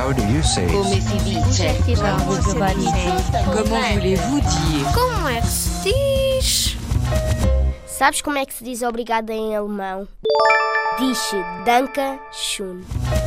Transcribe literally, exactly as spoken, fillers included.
How do you say Come it? si dice? Comment voulez-vous dire? Como é que se diz? Sabes como é que se diz obrigado em alemão? Diz-se Danke schön.